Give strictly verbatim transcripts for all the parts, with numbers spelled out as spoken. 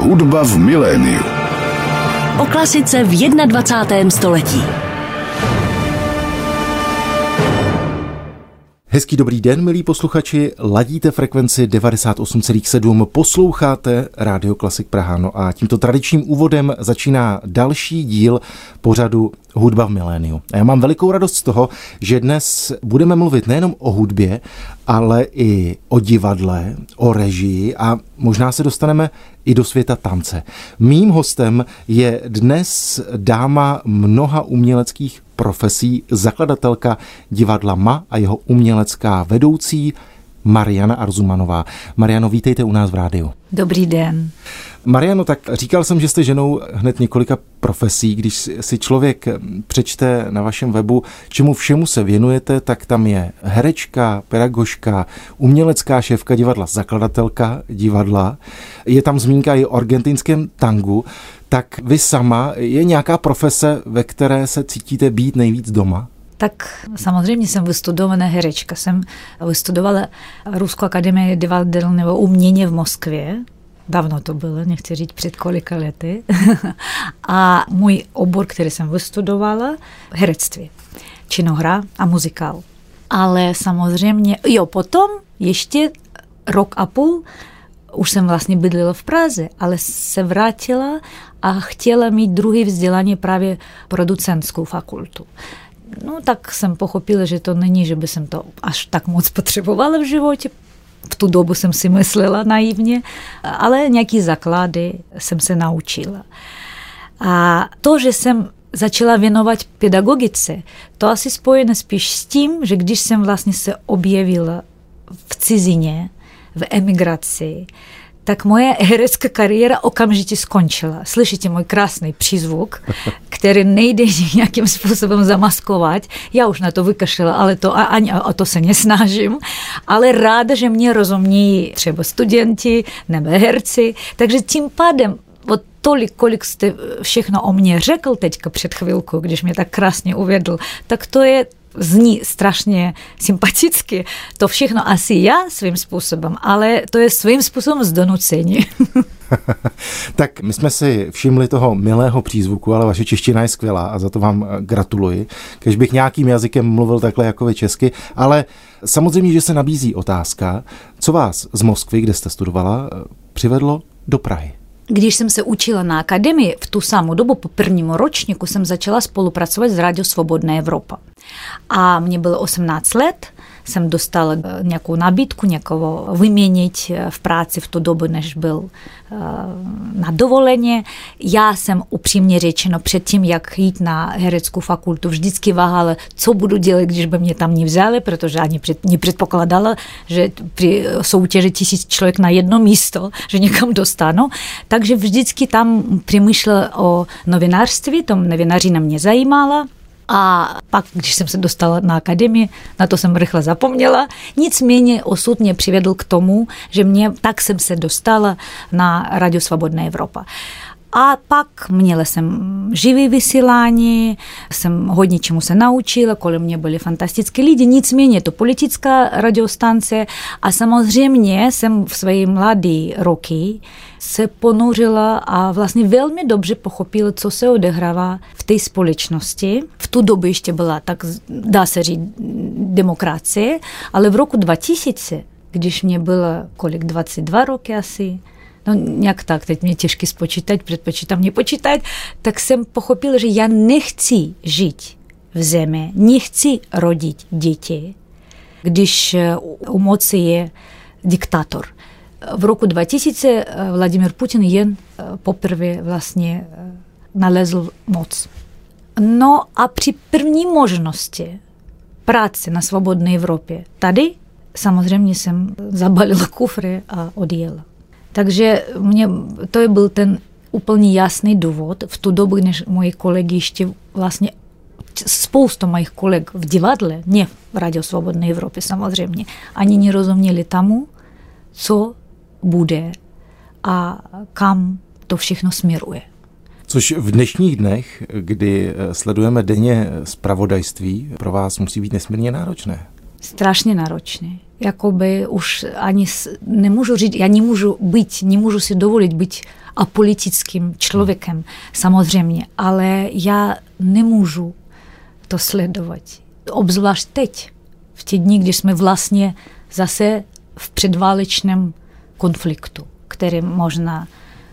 Hudba v miléniu. O klasice v dvacátém prvním století. Hezký dobrý den, milí posluchači, ladíte frekvenci devadesát osm celá sedm, posloucháte Rádio Klasik Praha. No a tímto tradičním úvodem začíná další díl pořadu Hudba v miléniu. A já mám velikou radost z toho, že dnes budeme mluvit nejenom o hudbě, ale i o divadle, o režii a možná se dostaneme i do světa tance. Mým hostem je dnes dáma mnoha uměleckých profesí, zakladatelka divadla M A a jeho umělecká vedoucí Mariana Arzumanová. Mariano, vítejte u nás v rádiu. Dobrý den. Mariano, tak říkal jsem, že jste ženou hned několika profesí. Když si člověk přečte na vašem webu, čemu všemu se věnujete, tak tam je herečka, pedagožka, umělecká šéfka divadla, zakladatelka divadla. Je tam zmínka i o argentinském tangu. Tak vy sama, je nějaká profese, ve které se cítíte být nejvíc doma? Tak samozřejmě jsem vystudovaná herečka. Jsem vystudovala Ruskou akademii divadelného umění v Moskvě. Dávno to bylo, nechci říct před kolika lety. A můj obor, který jsem vystudovala, herectví, činohra a muzikál. Ale samozřejmě, jo, potom ještě rok a půl už jsem vlastně bydlela v Praze, ale se vrátila a chtěla mít druhé vzdělání právě producentskou fakultu. No tak jsem pochopila, že to není, že by jsem to až tak moc potřebovala v životě. V tu dobu jsem si myslela naivně, ale nějaký základy jsem se naučila. A to, že jsem začala věnovat pedagogice, to asi spojené spíš s tím, že když jsem vlastně se objevila v cizině, v emigraci, tak moje herecká kariéra okamžitě skončila. Slyšíte můj krásný přízvuk, který nejde nějakým způsobem zamaskovat. Já už na to vykašlela, ale to ani o to se nesnažím. Ale ráda, že mě rozumějí třeba studenti nebo herci. Takže tím pádem od tolik, kolik jste všechno o mně řekl teďka před chvilkou, když mě tak krásně uvedl, tak to je zní strašně sympaticky. To všechno asi já svým způsobem, ale to je svým způsobem z donucení. Tak my jsme si všimli toho milého přízvuku, ale vaše čeština je skvělá a za to vám gratuluji. Když bych nějakým jazykem mluvil takhle jako vy česky, ale samozřejmě, že se nabízí otázka, co vás z Moskvy, kde jste studovala, přivedlo do Prahy. Když jsem se učila na akademii, v tu samou dobu po prvnímu ročníku jsem začala spolupracovat s Rádio Svobodná Evropa. A mě bylo osmnáct let, jsem dostala nějakou nabídku někoho vyměnit v práci v tu dobu, než byl na dovoleně. Já jsem upřímně řečeno předtím, jak jít na hereckou fakultu, vždycky váhala, co budu dělat, když by mě tam nevzali, protože ani před, nepředpokládala, že při soutěži tisíc člověk na jedno místo, že někam dostanu. Takže vždycky tam přemýšlela o novinářství, to novinařina mě zajímala. A pak, když jsem se dostala na akademii, na to jsem rychle zapomněla. Nicméně osud mě přivedl k tomu, že mě, tak jsem se dostala na Rádio Svobodná Evropa. A pak měla jsem živý vysílání, jsem hodně čemu se naučila, kolem mě byli fantastické lidi, nicméně to politická radiostance a samozřejmě jsem v své mladé roky se ponořila a vlastně velmi dobře pochopila, co se odehrává v té společnosti. V tu dobu ještě byla, tak dá se říct, demokracie, ale v roku dva tisíce, když mě bylo kolik, dvacet dva roky asi, no nějak tak, teď mě těžké spočítat, předpočítám nepočítat, tak jsem pochopila, že já nechci žít v zemi, nechci rodit děti, když u moci je diktátor. V roku dva tisíce Vladimír Putin jen poprvé vlastně nalezl moc. No a při první možnosti práce na svobodné Evropě tady samozřejmě jsem zabalila kufry a odjela. Takže mě, to byl ten úplně jasný důvod. V tu dobu, než moji kolegy ještě vlastně spoustu mojich kolegů v divadle, ne v Rádio Svobodné Evropy samozřejmě, ani nerozuměli tomu, co bude a kam to všechno směruje. Což v dnešních dnech, kdy sledujeme denně zpravodajství, pro vás musí být nesmírně náročné. Strašně náročné. Jakoby už ani nemůžu říct, já nemůžu být, nemůžu si dovolit být apolitickým člověkem, samozřejmě, ale já nemůžu to sledovat. Obzvlášť teď, v těch dní, když jsme vlastně zase v předválečném konfliktu, který možná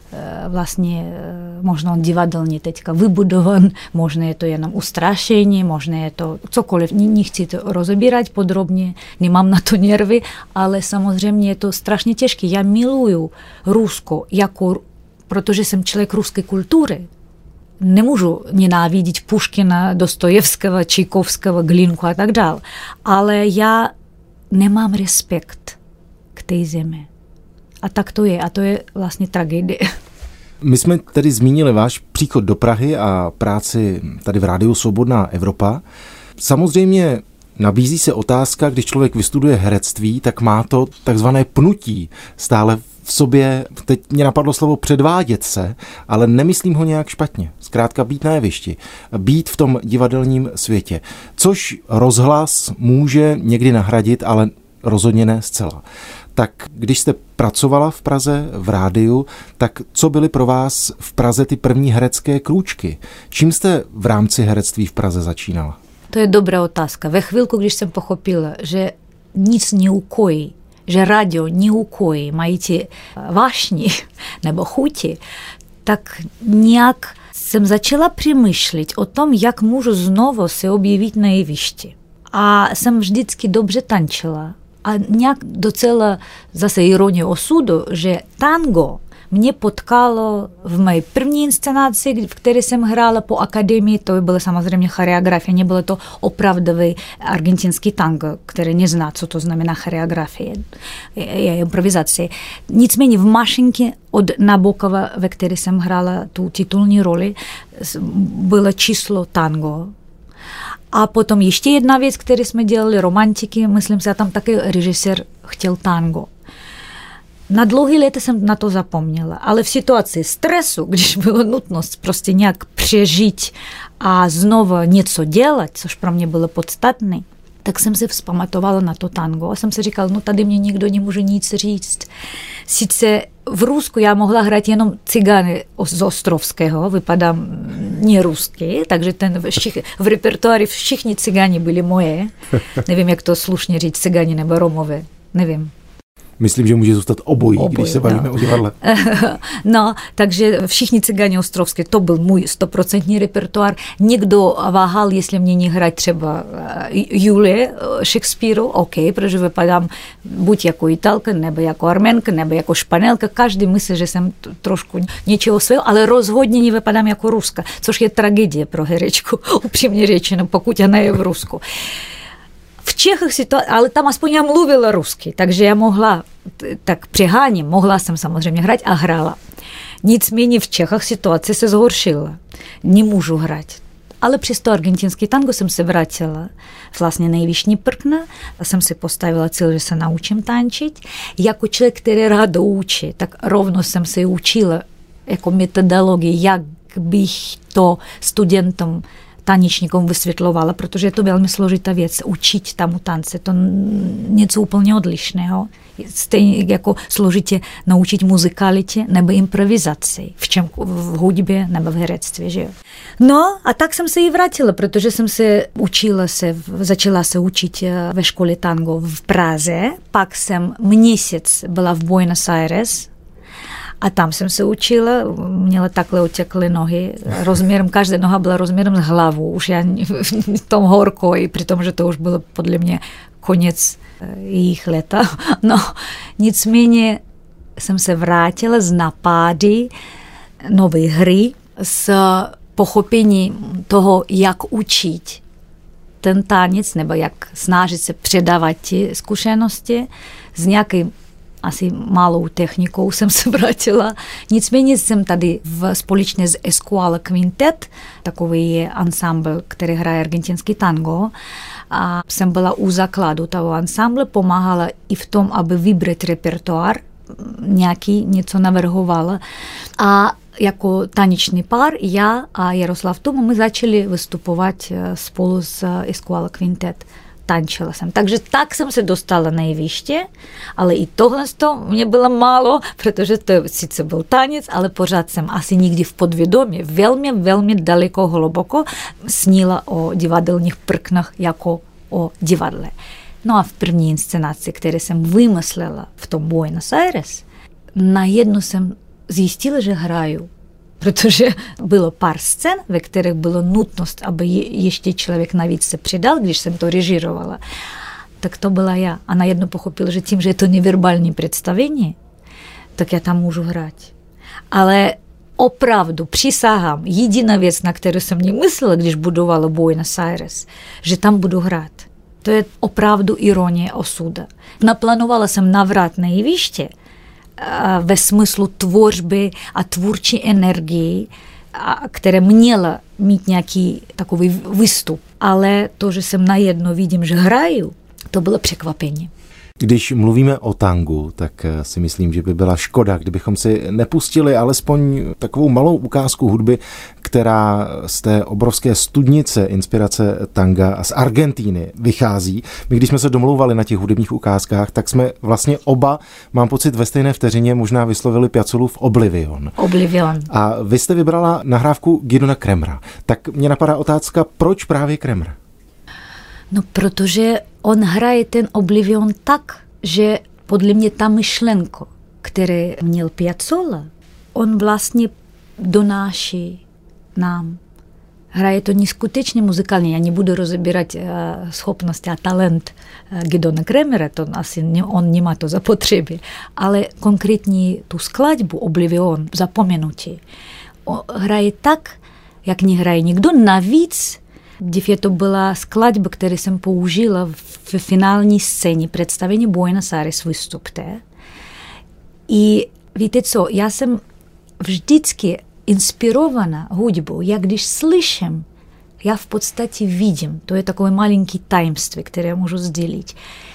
vlastně možná on divadelně teďka vybudovan, možná je to jenom ustrašení, možná je to cokoliv, nechci to rozebírat podrobně, nemám na to nervy, ale samozřejmě je to strašně těžké. Já miluju Rusko, jako, protože jsem člověk ruské kultury. Nemůžu nenávidět Puškina, Dostojevského, Čajkovského, Glinku a tak dále, ale já nemám respekt k té zemi. A tak to je. A to je vlastně tragédie. My jsme tedy zmínili váš příchod do Prahy a práci tady v Rádiu Svobodná Evropa. Samozřejmě nabízí se otázka, když člověk vystuduje herectví, tak má to takzvané pnutí stále v sobě. Teď mě napadlo slovo předvádět se, ale nemyslím ho nějak špatně. Zkrátka být na jevišti, být v tom divadelním světě. Což rozhlas může někdy nahradit, ale rozhodně ne zcela. Tak když jste pracovala v Praze v rádiu, tak co byly pro vás v Praze ty první herecké krůčky? Čím jste v rámci herectví v Praze začínala? To je dobrá otázka. Ve chvilku, když jsem pochopila, že nic neukojí, že rádio neukojí, mají ti vášni nebo chuti, tak nějak jsem začala přemýšlet o tom, jak můžu znovu se objevit na jevišti. A jsem vždycky dobře tančila. A nějak docela zase ironie osudu, že tango mě potkalo v mé první inscenaci, v které jsem hrála po akademii, to byla samozřejmě choreografie, nebylo to opravdový argentinský tango, který nezná, co to znamená choreografie, je improvizace. Nicméně v Mašinke od Nabokova, ve které jsem hrála tu titulní roli, bylo číslo tango. A potom ještě jedna věc, kterou jsme dělali, romantiky, myslím si, a tam taky režisér chtěl tango. Na dlouhé léta jsem na to zapomněla, ale v situaci stresu, když byla nutnost prostě nějak přežít a znovu něco dělat, což pro mě bylo podstatné, tak jsem se vzpamatovala na to tango a jsem si říkala, no tady mě nikdo nemůže nic říct. Sice v Rusku já mohla hrát jenom cigány z Ostrovského, vypadám nerusky, takže ten všich, v repertoári všichni cigáni byli moje. Nevím, jak to slušně říct, cigáni nebo Romové, nevím. Myslím, že může zůstat obojí, obojí když se bavíme no. o divadle. No, takže všichni cigáni ostrovské, to byl můj stoprocentní repertoár. Někdo váhal, jestli mě nehrát třeba Julie Shakespeareu, OK, protože vypadám buď jako Italka, nebo jako Arménka, nebo jako Španělka. Každý myslí, že jsem trošku něčeho svého, ale rozhodně nevypadám jako Ruska, což je tragédie pro herečku, upřímně řečeno, pokud ona je v Rusku. V Čechách si to, ale tam aspoň já mluvila rusky, takže já mohla, tak přeháním, mohla jsem samozřejmě hrát a hrála. Nicméně v Čechách situace se zhoršila. Nemůžu hrát. Ale přesto argentinský tango jsem se vrátila vlastně nejvyšší prkna a jsem si postavila cíl, že se naučím tančit. Jako člověk, který rád učí, tak rovno jsem se učila jako metodologii, jak bych to studentům tanečníkům vysvětlovala, protože je to velmi složitá věc, učit tam tance, to něco úplně odlišného. Stejně jako složitě naučit muzikalitě nebo improvizaci, v čem v hudbě nebo v herectví, že jo. No a tak jsem se i vrátila, protože jsem se učila se, začala se učit ve škole tango v Praze, pak jsem měsíc byla v Buenos Aires, a tam jsem se učila, měla takhle otěkly nohy, rozměrem, každá noha byla rozměrem s hlavou, už já v tom horko, i při tom, že to už bylo podle mě konec jejich leta. No, nicméně jsem se vrátila z napády nové hry, s pochopení toho, jak učit ten tanec, nebo jak snažit se předávat ty zkušenosti s nějakým asi malou technikou jsem se vrátila. Nicméně jsem tady v, společně s Escuela Quintet, takový je ansámbl, který hraje argentinský tango. A jsem byla u základu toho ansámble, pomáhala i v tom, aby vybrat repertoár, nějaký něco navrhovala. A jako tanečný pár, já a Jaroslav Tuma, my začali vystupovat spolu s Escuela Quintet. tančila jsem. Takže tak jsem se dostala na jeviště, ale i tohle mě bylo málo, protože to sice byl tanec, ale pořád jsem asi nikdy v podvědomí velmi, velmi daleko, hluboko snila o divadelních prknách jako o divadle. No a v první inscenaci, které jsem vymyslela v tom Buenos Aires, najednou jsem zjistila, že hraju. Protože bylo pár scén, ve kterých bylo nutnost, aby ještě člověk navíc se přidal, když jsem to režírovala. Tak to byla já. A najednou pochopila, že tím, že je to neverbální představení, tak já tam můžu hrát. Ale opravdu přísahám, jediná věc, na kterou jsem nemyslela, když budovala Buenos Aires, že tam budu hrát. To je opravdu ironie osuda. Naplánovala jsem navrat na jeviště ve smyslu tvořby a tvůrčí energii, které měla mít nějaký takový výstup. Ale to, že jsem najednou vidím, že hraju, to bylo překvapení. Když mluvíme o tangu, tak si myslím, že by byla škoda, kdybychom si nepustili alespoň takovou malou ukázku hudby, která z té obrovské studnice inspirace tanga z Argentíny vychází. My, když jsme se domlouvali na těch hudebních ukázkách, tak jsme vlastně oba, mám pocit, ve stejné vteřině možná vyslovili Piazzollův Oblivion. Oblivion. A vy jste vybrala nahrávku Gidona Kremera. Tak mě napadá otázka, proč právě Kremer? No, protože on hraje ten Oblivion tak, že podle mě ta myšlenka, které měl Piazzolla, on vlastně donáší nám. Hraje to neskutečně muzikálně. Já nebudu rozebírat uh, schopnosti a talent uh, Gidona Kremera, to asi ne, on nemá to zapotřebí, ale konkrétně tu skladbu Oblivion, zapomenutí, hraje tak, jak nehraje nikdo. Navíc Dívě to byla skladba, kterou jsem použila v finální scéně představení Buenos Aires vystupte. I víte co, já jsem vždycky inspirovaná hudbou. Já když slyším, já v podstatě vidím. To je takové malinký tajemství, které můžu sdělit.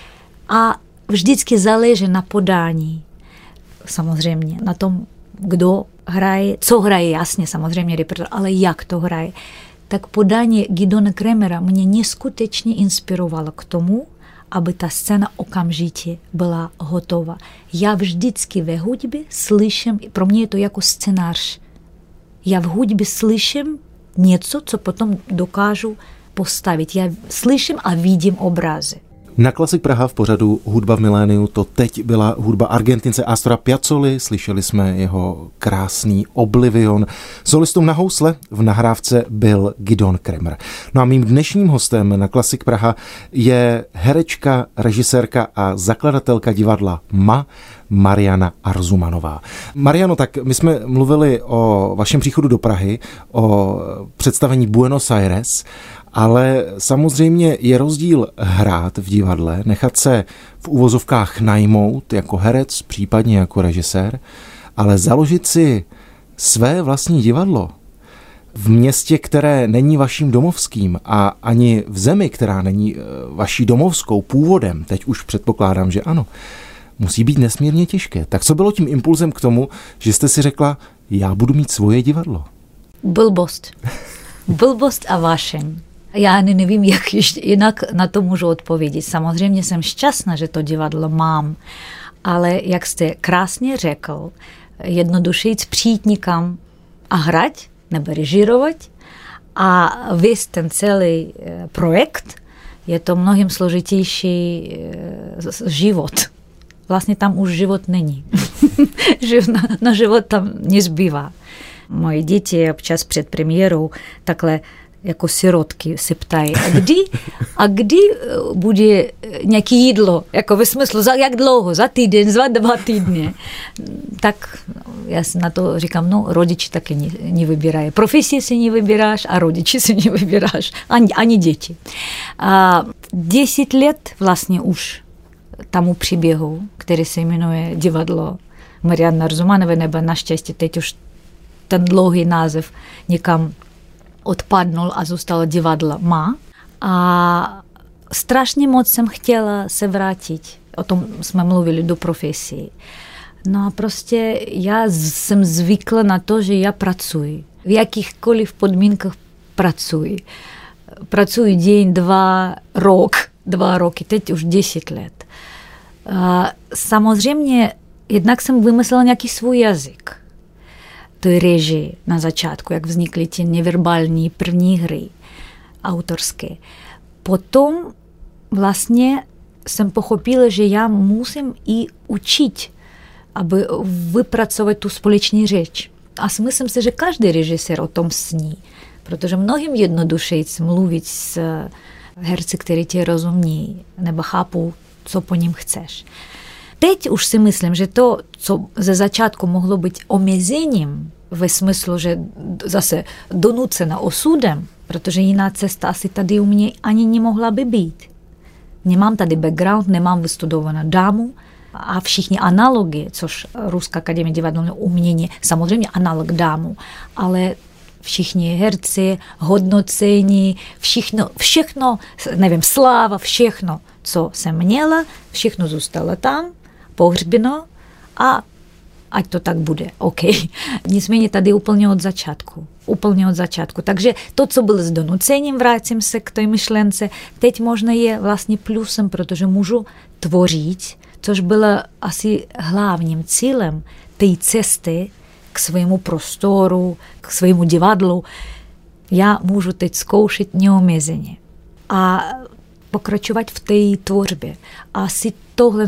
A vždycky záleží na podání. Samozřejmě na tom, kdo hraje, co hraje, jasně, samozřejmě repertoár, ale jak to hraje. Tak podání Gidona Kremera mě neskutečně inspirovalo k tomu, aby ta scéna okamžitě byla hotová. Já vždycky ve hudbě slyším, pro mě je to jako scénář. Já v hudbě slyším něco, co potom dokážu postavit. Já slyším a vidím obrazy. Na Klasik Praha v pořadu Hudba v miléniu to teď byla hudba Argentince Astora Piazzoly, slyšeli jsme jeho krásný Oblivion. Solistou na housle v nahrávce byl Gidon Kremer. No a mým dnešním hostem na Klasik Praha je herečka, režisérka a zakladatelka divadla M A Mariana Arzumanová. Mariano, tak my jsme mluvili o vašem příchodu do Prahy, o představení Buenos Aires, ale samozřejmě je rozdíl hrát v divadle, nechat se v uvozovkách najmout jako herec, případně jako režisér, ale založit si své vlastní divadlo v městě, které není vaším domovským a ani v zemi, která není vaší domovskou původem, teď už předpokládám, že ano, musí být nesmírně těžké. Tak co bylo tím impulzem k tomu, že jste si řekla, já budu mít svoje divadlo? Blbost. Blbost a vášeň. Já ani nevím, jak ještě jinak na to můžu odpovědět. Samozřejmě jsem šťastná, že to divadlo mám, ale jak jste krásně řekl, jednoduše jít přijít někam a hrát nebo režírovat a vést ten celý projekt, je to mnohem složitější život. Vlastně tam už život není. na, na život tam nezbývá. Moje děti občas před premiérou takhle jako sirotky se ptají, a kdy, a kdy bude nějaké jídlo, jako ve smyslu, za jak dlouho, za týden, za dva týdny. Tak já si na to říkám, no rodiči taky ne, nevybírají. Profesie si nevybíráš a rodiči si nevybíráš, ani, ani děti. A deset let vlastně už tomu příběhu, který se jmenuje Divadlo Mariany Arzumanové, nebo naštěstí teď už ten dlouhý název někam odpadnul a zůstalo divadlo M A. A strašně moc jsem chtěla se vrátit. O tom jsme mluvili do profesí. No a prostě já jsem zvykla na to, že já pracuji. V jakýchkoliv podmínkách pracuji. Pracuji den, dva, rok. dva roky, teď už deset let. Samozřejmě, jednak jsem vymyslela nějaký svůj jazyk. Той režii na začátku, jak vznikly ty neverbální první hry autorské. Potom vlastně jsem pochopila, že já musím i učit, aby vypracovat tu společnou řeč. A myslím si, že každý režisér o tom sní, protože mnohým jednodušeji mluvit s herci, kteří tě rozumějí, nebo chápou, co po ním chceš. Teď už si myslím, že to, co ze začátku mohlo být omezením, ve smyslu, že zase donucena osudem, protože jiná cesta asi tady u mě ani nemohla by být. Nemám tady background, nemám vystudovanou dámu a všichni analogie, což Ruská akademie divadelního umění, samozřejmě analog dámu, ale všichni herci, hodnocení, všechno, všechno, nevím, sláva, všechno, co jsem měla, všechno zůstalo tam, pohřbeno a ať to tak bude, OK. Nicméně tady úplně od začátku. Úplně od začátku. Takže to, co bylo s donucením, vrátím se k té myšlence, teď možná je vlastně plusem, protože můžu tvořit, což bylo asi hlavním cílem té cesty k svému prostoru, k svému divadlu. Já můžu teď zkoušet neomezeně a pokračovat v té tvorbě. A asi tohle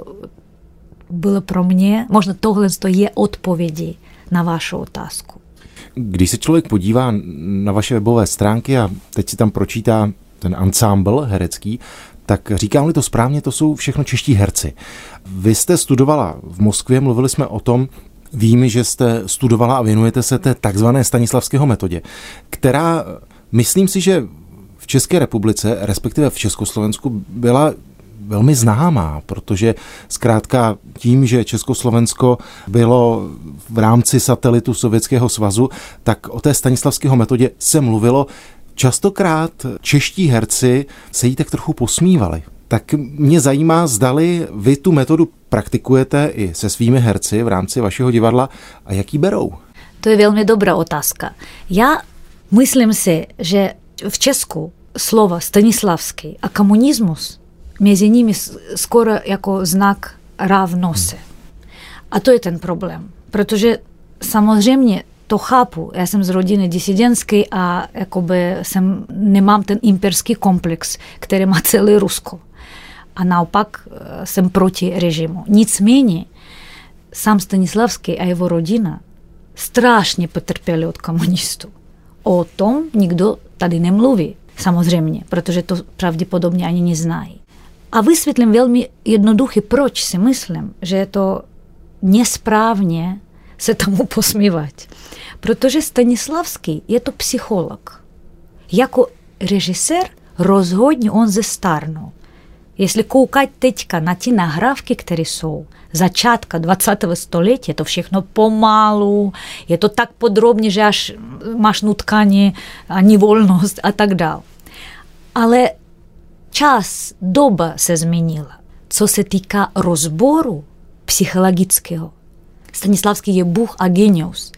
bylo pro mě, možná tohle je odpovědi na vašu otázku. Když se člověk podívá na vaše webové stránky a teď si tam pročítá ten ansámbl herecký, tak říkám-li to správně, to jsou všechno čeští herci. Vy jste studovala v Moskvě, mluvili jsme o tom, vím, že jste studovala a věnujete se té takzvané Stanislavského metodě, která, myslím si, že v České republice, respektive v Československu, byla velmi známá, protože zkrátka tím, že Československo bylo v rámci satelitu Sovětského svazu, tak o té Stanislavského metodě se mluvilo. Častokrát čeští herci se jí tak trochu posmívali. Tak mě zajímá, zdali vy tu metodu praktikujete i se svými herci v rámci vašeho divadla a jak ji berou? To je velmi dobrá otázka. Já myslím si, že v Česku slova Stanislavský a komunismus mezi nimi skoro jako znak rovnosti. A to je ten problém, protože samozřejmě to chápu. Já jsem z rodiny disidentské a jakoby jsem, nemám ten imperský komplex, který má celé Rusko. A naopak jsem proti režimu. Nicméně sám Stanislavský a jeho rodina strašně potrpěli od komunistů. O tom nikdo tady nemluví, samozřejmě, protože to pravděpodobně ani neznají. A vysvětlím velmi jednoduše, proč si myslím, že je to nesprávně se tomu posmívat. Protože Stanislavský je to psycholog. Jako režisér rozhodně on zestárnul. Jestli koukat teďka na ty nahrávky, které jsou začátka dvacátého století, je to všechno pomalu, je to tak podrobně, že až máš nutkání a nevolnost a tak dále. Ale čas, doba se změnila. Co se týká rozboru psychologického, Stanislavský je bůh a genius.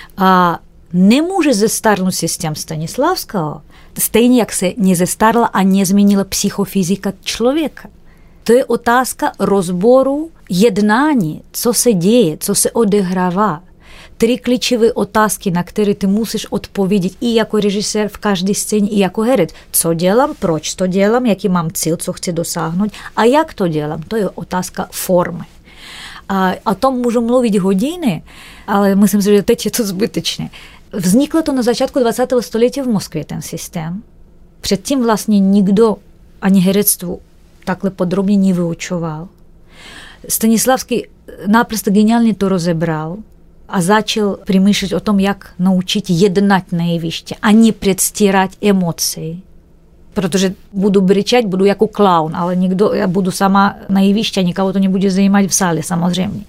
A nemůže zestárnout systém Stanislavského, stejně jak se nezestárla a nezměnila psychofyzika člověka. To je otázka rozboru jednání, co se děje, co se odehrává. Tři klíčové otázky, na které ty musíš odpovědět i jako režisér v každé scéně, i jako herec. Co dělám, proč to dělám, jaký mám cíl, co chci dosáhnout a jak to dělám. To je otázka formy. A o tom můžu mluvit hodiny, ale myslím si, že teď je to zbytečné. Vzniklo to na začátku dvacátého století v Moskvě, ten systém. Předtím vlastně nikdo ani herectvu takhle podrobně nevyučoval. Stanislavský naprosto geniálně to rozebral a začal přemýšlet o tom, jak naučit jednat na jevišti a ne předstírat emoci. Protože budu brečet, budu jako klaun, ale nikdo, já budu sama na jevišti a nikoho to nebude zajímat v sále, samozřejmě.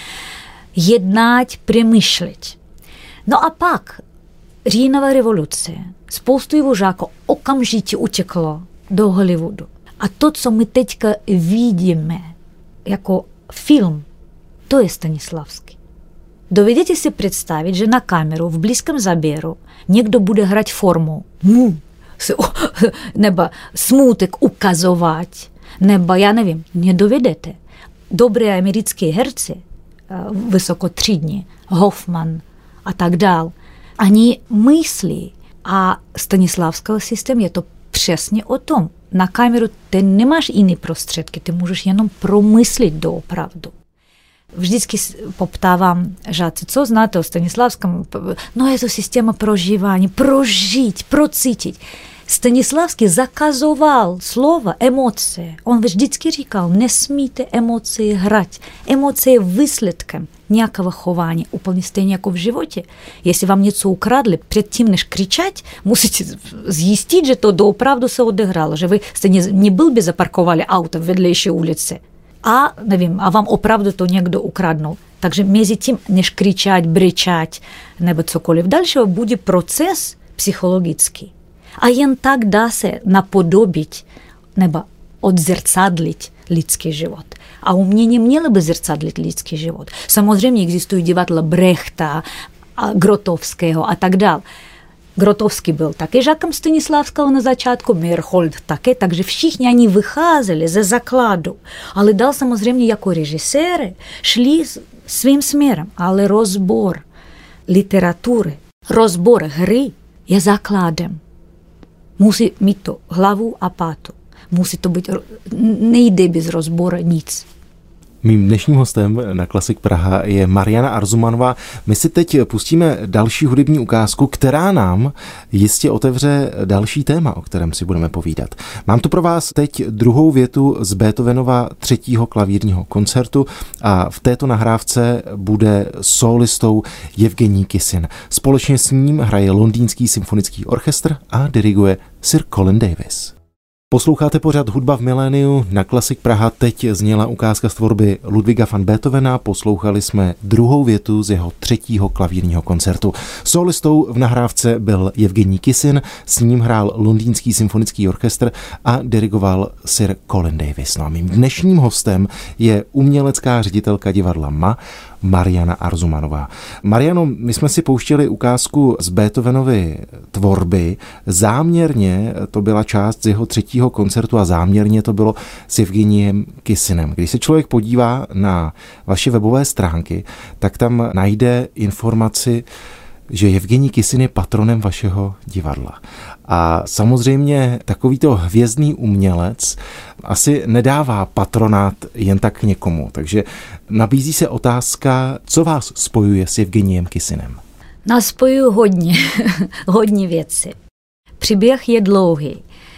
Jednat, přemýšlet. No a pak říjnová revoluce, spoustu jeho žáků okamžitě uteklo do Hollywoodu. A to, co my teďka vidíme jako film, to je Stanislavský. Dovedete si představit, že na kameru v blízkém záběru někdo bude hrát formu. Hmm, nebo smutek ukazovat, nebo já nevím, nedovedete. Dobré americké herci, vysokotřídní, Hoffman a tak dál, oni myslí, a Stanislavského systém je to přesně o tom. Na kameru ty nemáš jiné prostředky, ty můžeš jenom promyslit doopravdu. Vždycky poptávám žáci, co znáte o Stanislavském? No je to systém prožívání, prožít, procítit. Stanislavský zakazoval slova emoce. On vždycky říkal, nesmíte emoce hrát. Emoce je výsledkem nějakého chování, úplně stejně jako v životě. Jestli vám něco ukradli, předtím než křičet, musíte zjistit, že to doopravdu se odehrálo, že vy jste neblbě zaparkovali auto v vedlejší ulici. A nevím, a vám opravdu to někdo ukradnul. Takže mezi tím, než křičet, brečet nebo cokoliv dalšího, bude proces psychologický. A jen tak dá se napodobit nebo odzrcadlit lidský život. A umění mělo by zrcadlit lidský život. Samozřejmě existují divadla Brechta, Grotowského a tak dále. Grotowski byl také žákem Stanislavského na začátku, Meyerhold také, takže všichni oni vycházeli ze základu. Ale dál samozřejmě jako režiséry šli svým směrem, ale rozbor literatury, rozbor hry je základem. Musí mít to hlavu a pátu. Musí to být, nejde bez rozboru nic. Mým dnešním hostem na Klasik Praha je Mariana Arzumanová. My si teď pustíme další hudební ukázku, která nám jistě otevře další téma, o kterém si budeme povídat. Mám tu pro vás teď druhou větu z Beethovenova třetího klavírního koncertu a v této nahrávce bude sólistou Jevgenij Kisin. Společně s ním hraje Londýnský symfonický orchestr a diriguje Sir Colin Davis. Posloucháte pořad Hudba v miléniu, na Klasik Praha teď zněla ukázka z tvorby Ludwiga van Beethovena, poslouchali jsme druhou větu z jeho třetího klavírního koncertu. Solistou v nahrávce byl Jevgenij Kisin, s ním hrál Londýnský symfonický orchestr a dirigoval Sir Colin Davis. No a mým dnešním hostem je umělecká ředitelka divadla M A Mariana Arzumanová. Mariano, my jsme si pouštěli ukázku z Beethovenovy tvorby. Záměrně to byla část z jeho třetího koncertu a záměrně to bylo s Jevgenijem Kisinem. Když se člověk podívá na vaše webové stránky, tak tam najde informaci, že Jevgenij Kisin je patronem vašeho divadla. A samozřejmě takovýto hvězdný umělec asi nedává patronát jen tak někomu. Takže nabízí se otázka, co vás spojuje s Jevgenijem Kisinem? Nás spojují hodně, hodně věcí. Příběh je dlouhý.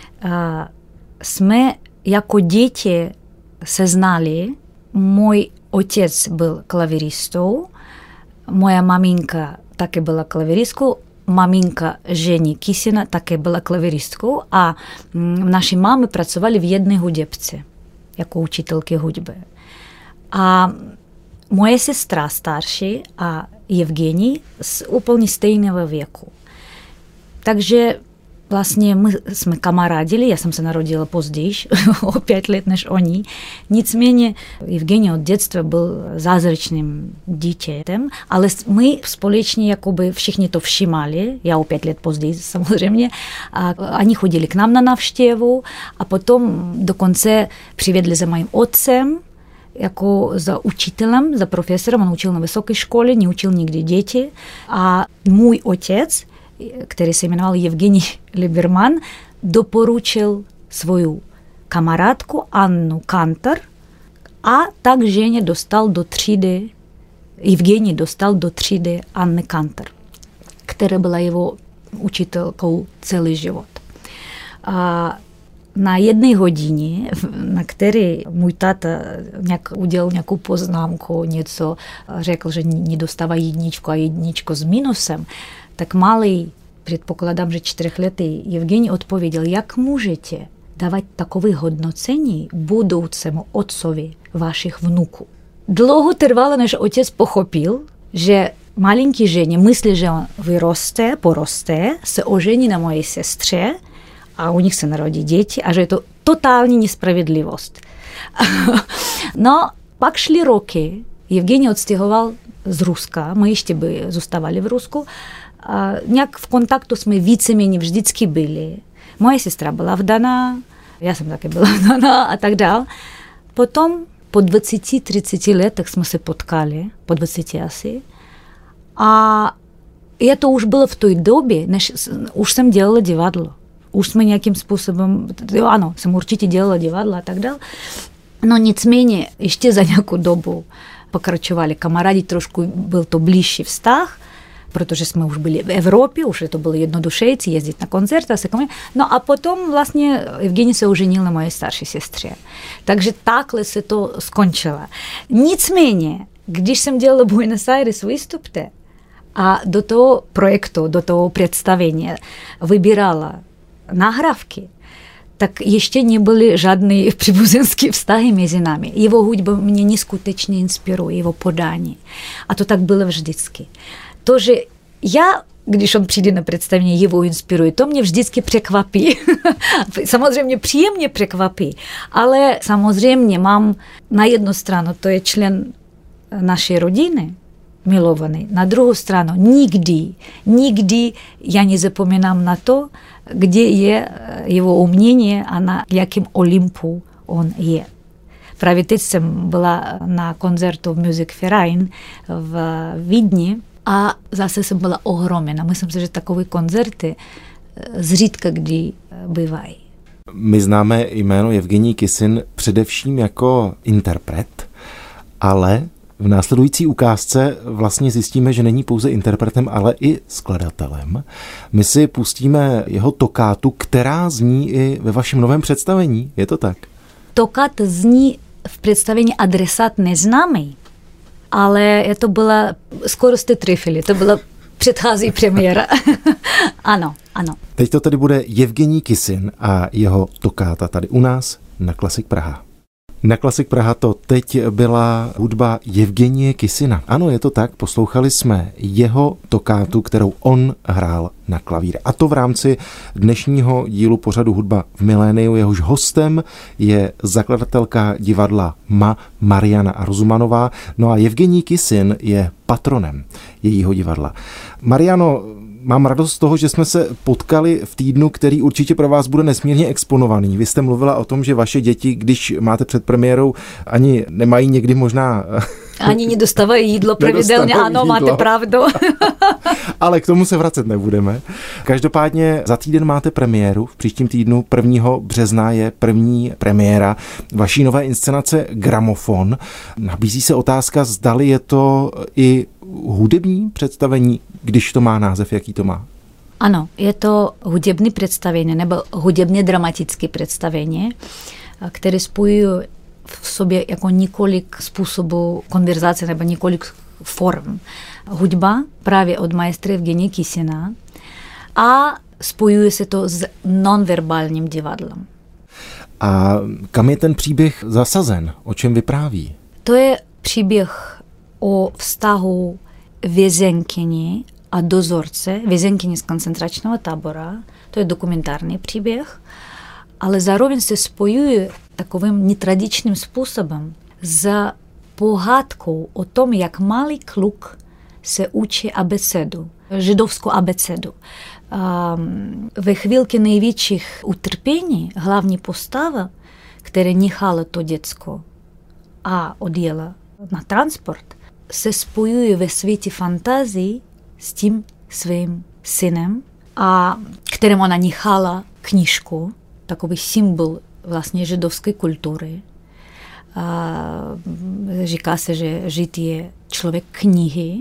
Jsme jako děti se znali. Můj otec byl klaviristou, moja maminka také byla klaviristkou, maminka Ženi Kisina také byla klaviristkou a naši mámy pracovali v jedné hudebce jako učitelky hudby. A moje sestra starší a Jevgenij z úplně stejného věku. Takže vlastně my jsme kamarádili, já jsem se narodila později, o pět let než oni. Nicméně Jevgenij od dětstva byl zázračným dítětem, ale my společně jakoby všichni to všimali, já o pět let později samozřejmě, a oni chodili k nám na návštěvu a potom dokonce přivedli za mým otcem, jako za učitelem, za profesorem, on učil na vysoké škole, neučil nikdy děti a můj otec, který se jmenoval Jevgenij Liberman, doporučil svou kamarádku Annu Kantor a tak Ženě dostal do třídy, Jevgenij dostal do třídy Anny Kantor, která byla jeho učitelkou celý život. A na jedné hodině, na které můj táta nějak udělal nějakou poznámku, něco řekl, že nedostává jedničku a jedničku s minusem, tak malý, předpokládám, že čtyřletý Jevgenij odpověděl, jak můžete dávat takové hodnocení budoucímu otcovi vašich vnuků. Dlouho trvalo, než otec pochopil, že malinký Ženě myslí, že on vyroste, poroste, se ožení na mojej sestře a u nich se narodí děti a že je to totální nespravedlivost. No, pak šly roky, Jevgenij odstěhoval z Ruska, my ještě by zůstávali v Rusku, a nějak v kontaktu jsme víceméně vždycky byli. Moje sestra byla vdaná, já jsem taky byla vdaná a tak dál. Potom po dvaceti třiceti letech jsme se potkali, po dvaceti asi. A to už bylo v té době, než už jsem dělala divadlo. Už jsme nějakým způsobem, jo, ano, jsem určitě dělala divadlo a tak dále. No nicméně ještě za nějakou dobu pokračovali kamarádi, trošku byl to blížší vztah, protože jsme už byli v Evropě, už to bylo jednodušejší jezdit na koncerty. No a potom vlastně Evgenij se oženil na mojej starší sestře. Takže takhle se to skončilo. Nicméně, když jsem dělala Buenos Aires výstupy a do toho projektu, do toho představení vybírala nahrávky, tak ještě nebyly žádné příbuzenské vztahy mezi námi. Jeho hudba mě neskutečně inspiruje, jeho podání. A to tak bylo vždycky. To, že já, když on přijde na představení, jeho inspiruje, to mě vždycky překvapí. Samozřejmě příjemně překvapí, ale samozřejmě mám na jednu stranu, to je člen naší rodiny, milovaný. Na druhou stranu nikdy, nikdy já nezapomínám na to, kde je jeho umění a na jakém Olympu on je. Právě teď jsem byla na koncertu v Music Verein v Vídni a zase jsem byla ohromena. Myslím si, že takové koncerty zřídka kdy bývají. My známe jméno Evgenij Kisin především jako interpret, ale v následující ukázce vlastně zjistíme, že není pouze interpretem, ale i skladatelem. My si pustíme jeho tokátu, která zní i ve vašem novém představení. Je to tak? Tokáta zní v představení Adresát neznámý, ale to byla, skoro jste trefili, to byla předchází premiéra. Ano, ano. Teď to tady bude Evgenij Kisin a jeho tokáta tady u nás na Klasik Praha. Na Klasik Praha to teď byla hudba Evgenije Kisina. Ano, je to tak, poslouchali jsme jeho tokátu, kterou on hrál na klavír. A to v rámci dnešního dílu pořadu Hudba v miléniu. Jehož hostem je zakladatelka divadla M A Mariana Arzumanová. No a Evgenij Kisin je patronem jejího divadla. Mariano, mám radost z toho, že jsme se potkali v týdnu, který určitě pro vás bude nesmírně exponovaný. Vy jste mluvila o tom, že vaše děti, když máte před premiérou, ani nemají někdy možná... Ani nedostávají jídlo pravidelně, ano, jídlo. Máte pravdu. Ale k tomu se vracet nebudeme. Každopádně za týden máte premiéru. V příštím týdnu prvního března je první premiéra vaší nové inscenace Gramofon. Nabízí se otázka, zdali je to i hudební představení, když to má název, jaký to má? Ano, je to hudební představení nebo hudebně dramatické představení, které spojují v sobě jako několik způsobů konverzace nebo několik form. Hudba právě od maestra Evgenije Kisina a spojuje se to s nonverbálním divadlem. A kam je ten příběh zasazen? O čem vypráví? To je příběh o vztahu vězenkyně a dozorce, vězenkyně z koncentračního tábora. To je dokumentární příběh, ale zároveň se spojuje takovým netradičním způsobem s pohádkou o tom, jak malý kluk se učí abecedu, židovskou abecedu. Ve chvílce největších utrpení hlavní postava, která nechala to děcko a odjela na transport, se spojuje ve světě fantazii s tím svým synem, a kterým ona nechala knížku, takový symbol vlastně židovské kultury. A říká se, že žid je člověk knihy,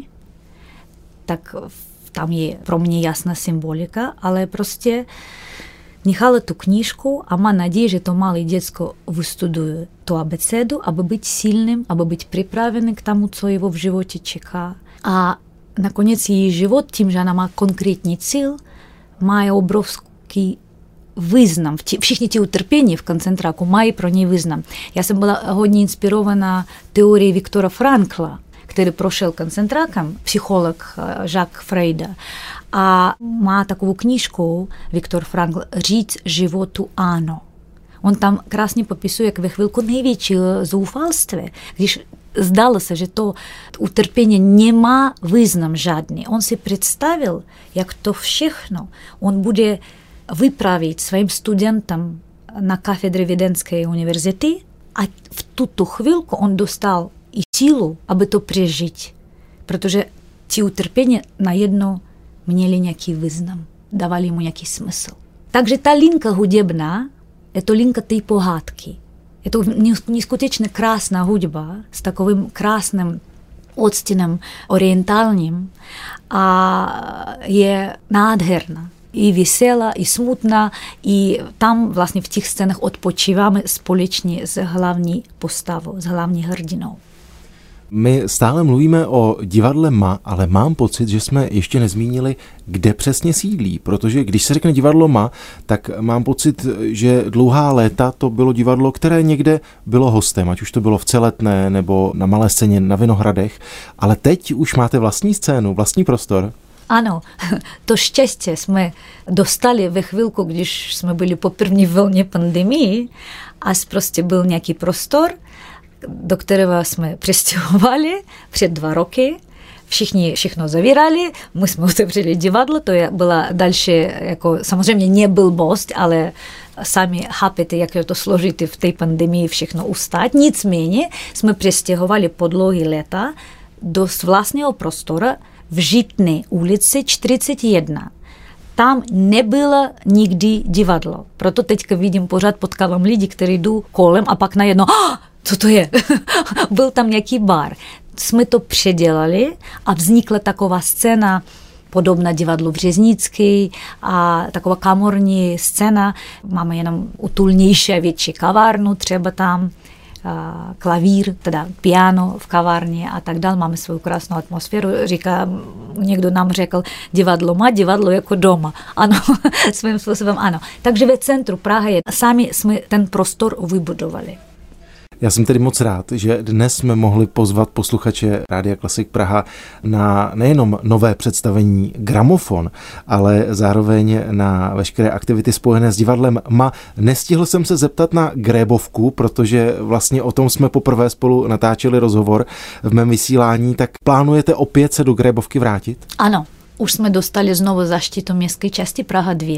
tak tam je pro mě jasná symbolika, ale prostě nechala tu knížku a má naději, že to malé děcko vystuduje tu abecedu, aby být silným, aby být připravený k tomu, co jeho v životě čeká. A nakonec její život, tím, že ona má konkrétní cíl, má obrovský význam. Všichni ty utrpení v koncentráku mají pro něj význam. Já jsem byla hodně inspirovaná teorií Viktora Frankla, který prošel koncentrákem, psycholog Jacques Freuda. A má takovou knížku Viktor Frankl Říct životu ano. On tam krásně popisuje, jak ve chvilku největšího zoufalství, když zdalo se, že to utrpení nemá význam žádný. On si představil, jak to všechno on bude vyprávět svým studentům na katedře Vídeňské univerzity a v tuto chvilku on dostal i sílu, aby to přežít, protože ti utrpení najednou měli nějaký význam, dávali mu nějaký smysl. Takže ta linka hudebná, je to linka té pohádky. Je to neskutečně krásná hudba s takovým krásným odstínem orientálním a je nádherná. I veselá, i smutná, i tam vlastně v těch scénách odpočíváme společně s hlavní postavou, s hlavní hrdinou. My stále mluvíme o divadle M A, ale mám pocit, že jsme ještě nezmínili, kde přesně sídlí, protože když se řekne divadlo M A, tak mám pocit, že dlouhá léta to bylo divadlo, které někde bylo hostem, ať už to bylo v Celetné nebo na Malé scéně na Vinohradech, ale teď už máte vlastní scénu, vlastní prostor. Ano, to štěstí jsme dostali ve chvilku, když jsme byli po první vlně pandemii a prostě byl nějaký prostor, do kterého jsme přestěhovali před dva roky. Všichni všechno zavírali, my jsme otevřeli divadlo, to byla další, jako samozřejmě ne blbost, ale sami chápete, jak je to složité v té pandemii všechno ustát. Nicméně jsme přestěhovali po dlouhý léta do vlastního prostoru v Žitné ulici čtyřicet jedna. Tam nebylo nikdy divadlo. Proto teďka vidím, pořád potkávám lidi, kteří jdou kolem a pak najednou, ah, co to je? Byl tam nějaký bar. Jsme to předělali a vznikla taková scéna podobná divadlu Březnický a taková kamorní scéna. Máme jenom utulnější a větší kavárnu, třeba tam klavír, teda piano v kavárně a tak dál. Máme svou krásnou atmosféru. Říká, někdo nám řekl, divadlo má, divadlo jako doma. Ano, svým způsobem ano. Takže ve centru Prahy sami jsme ten prostor vybudovali. Já jsem tedy moc rád, že dnes jsme mohli pozvat posluchače Rádia Klasik Praha na nejenom nové představení Gramofon, ale zároveň na veškeré aktivity spojené s divadlem M A. Nestihl jsem se zeptat na Grébovku, protože vlastně o tom jsme poprvé spolu natáčeli rozhovor v mém vysílání, tak plánujete opět se do Grébovky vrátit? Ano. Už jsme dostali znovu zaštitu městské části Praha dva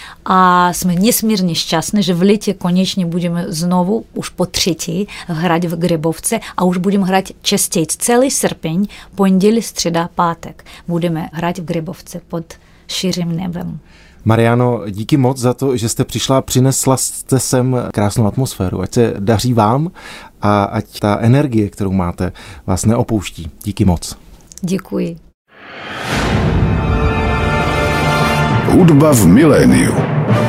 a jsme nesmírně šťastní, že v létě konečně budeme znovu, už po třetí, hrát v Grébovce a už budeme hrát častěji. Celý srpeň, pondělí, středa, pátek budeme hrát v Grébovce pod širým nebem. Mariano, díky moc za to, že jste přišla a přinesla jste sem krásnou atmosféru. Ať se daří vám a ať ta energie, kterou máte, vás neopouští. Díky moc. Děkuji. Hudba v miléniu.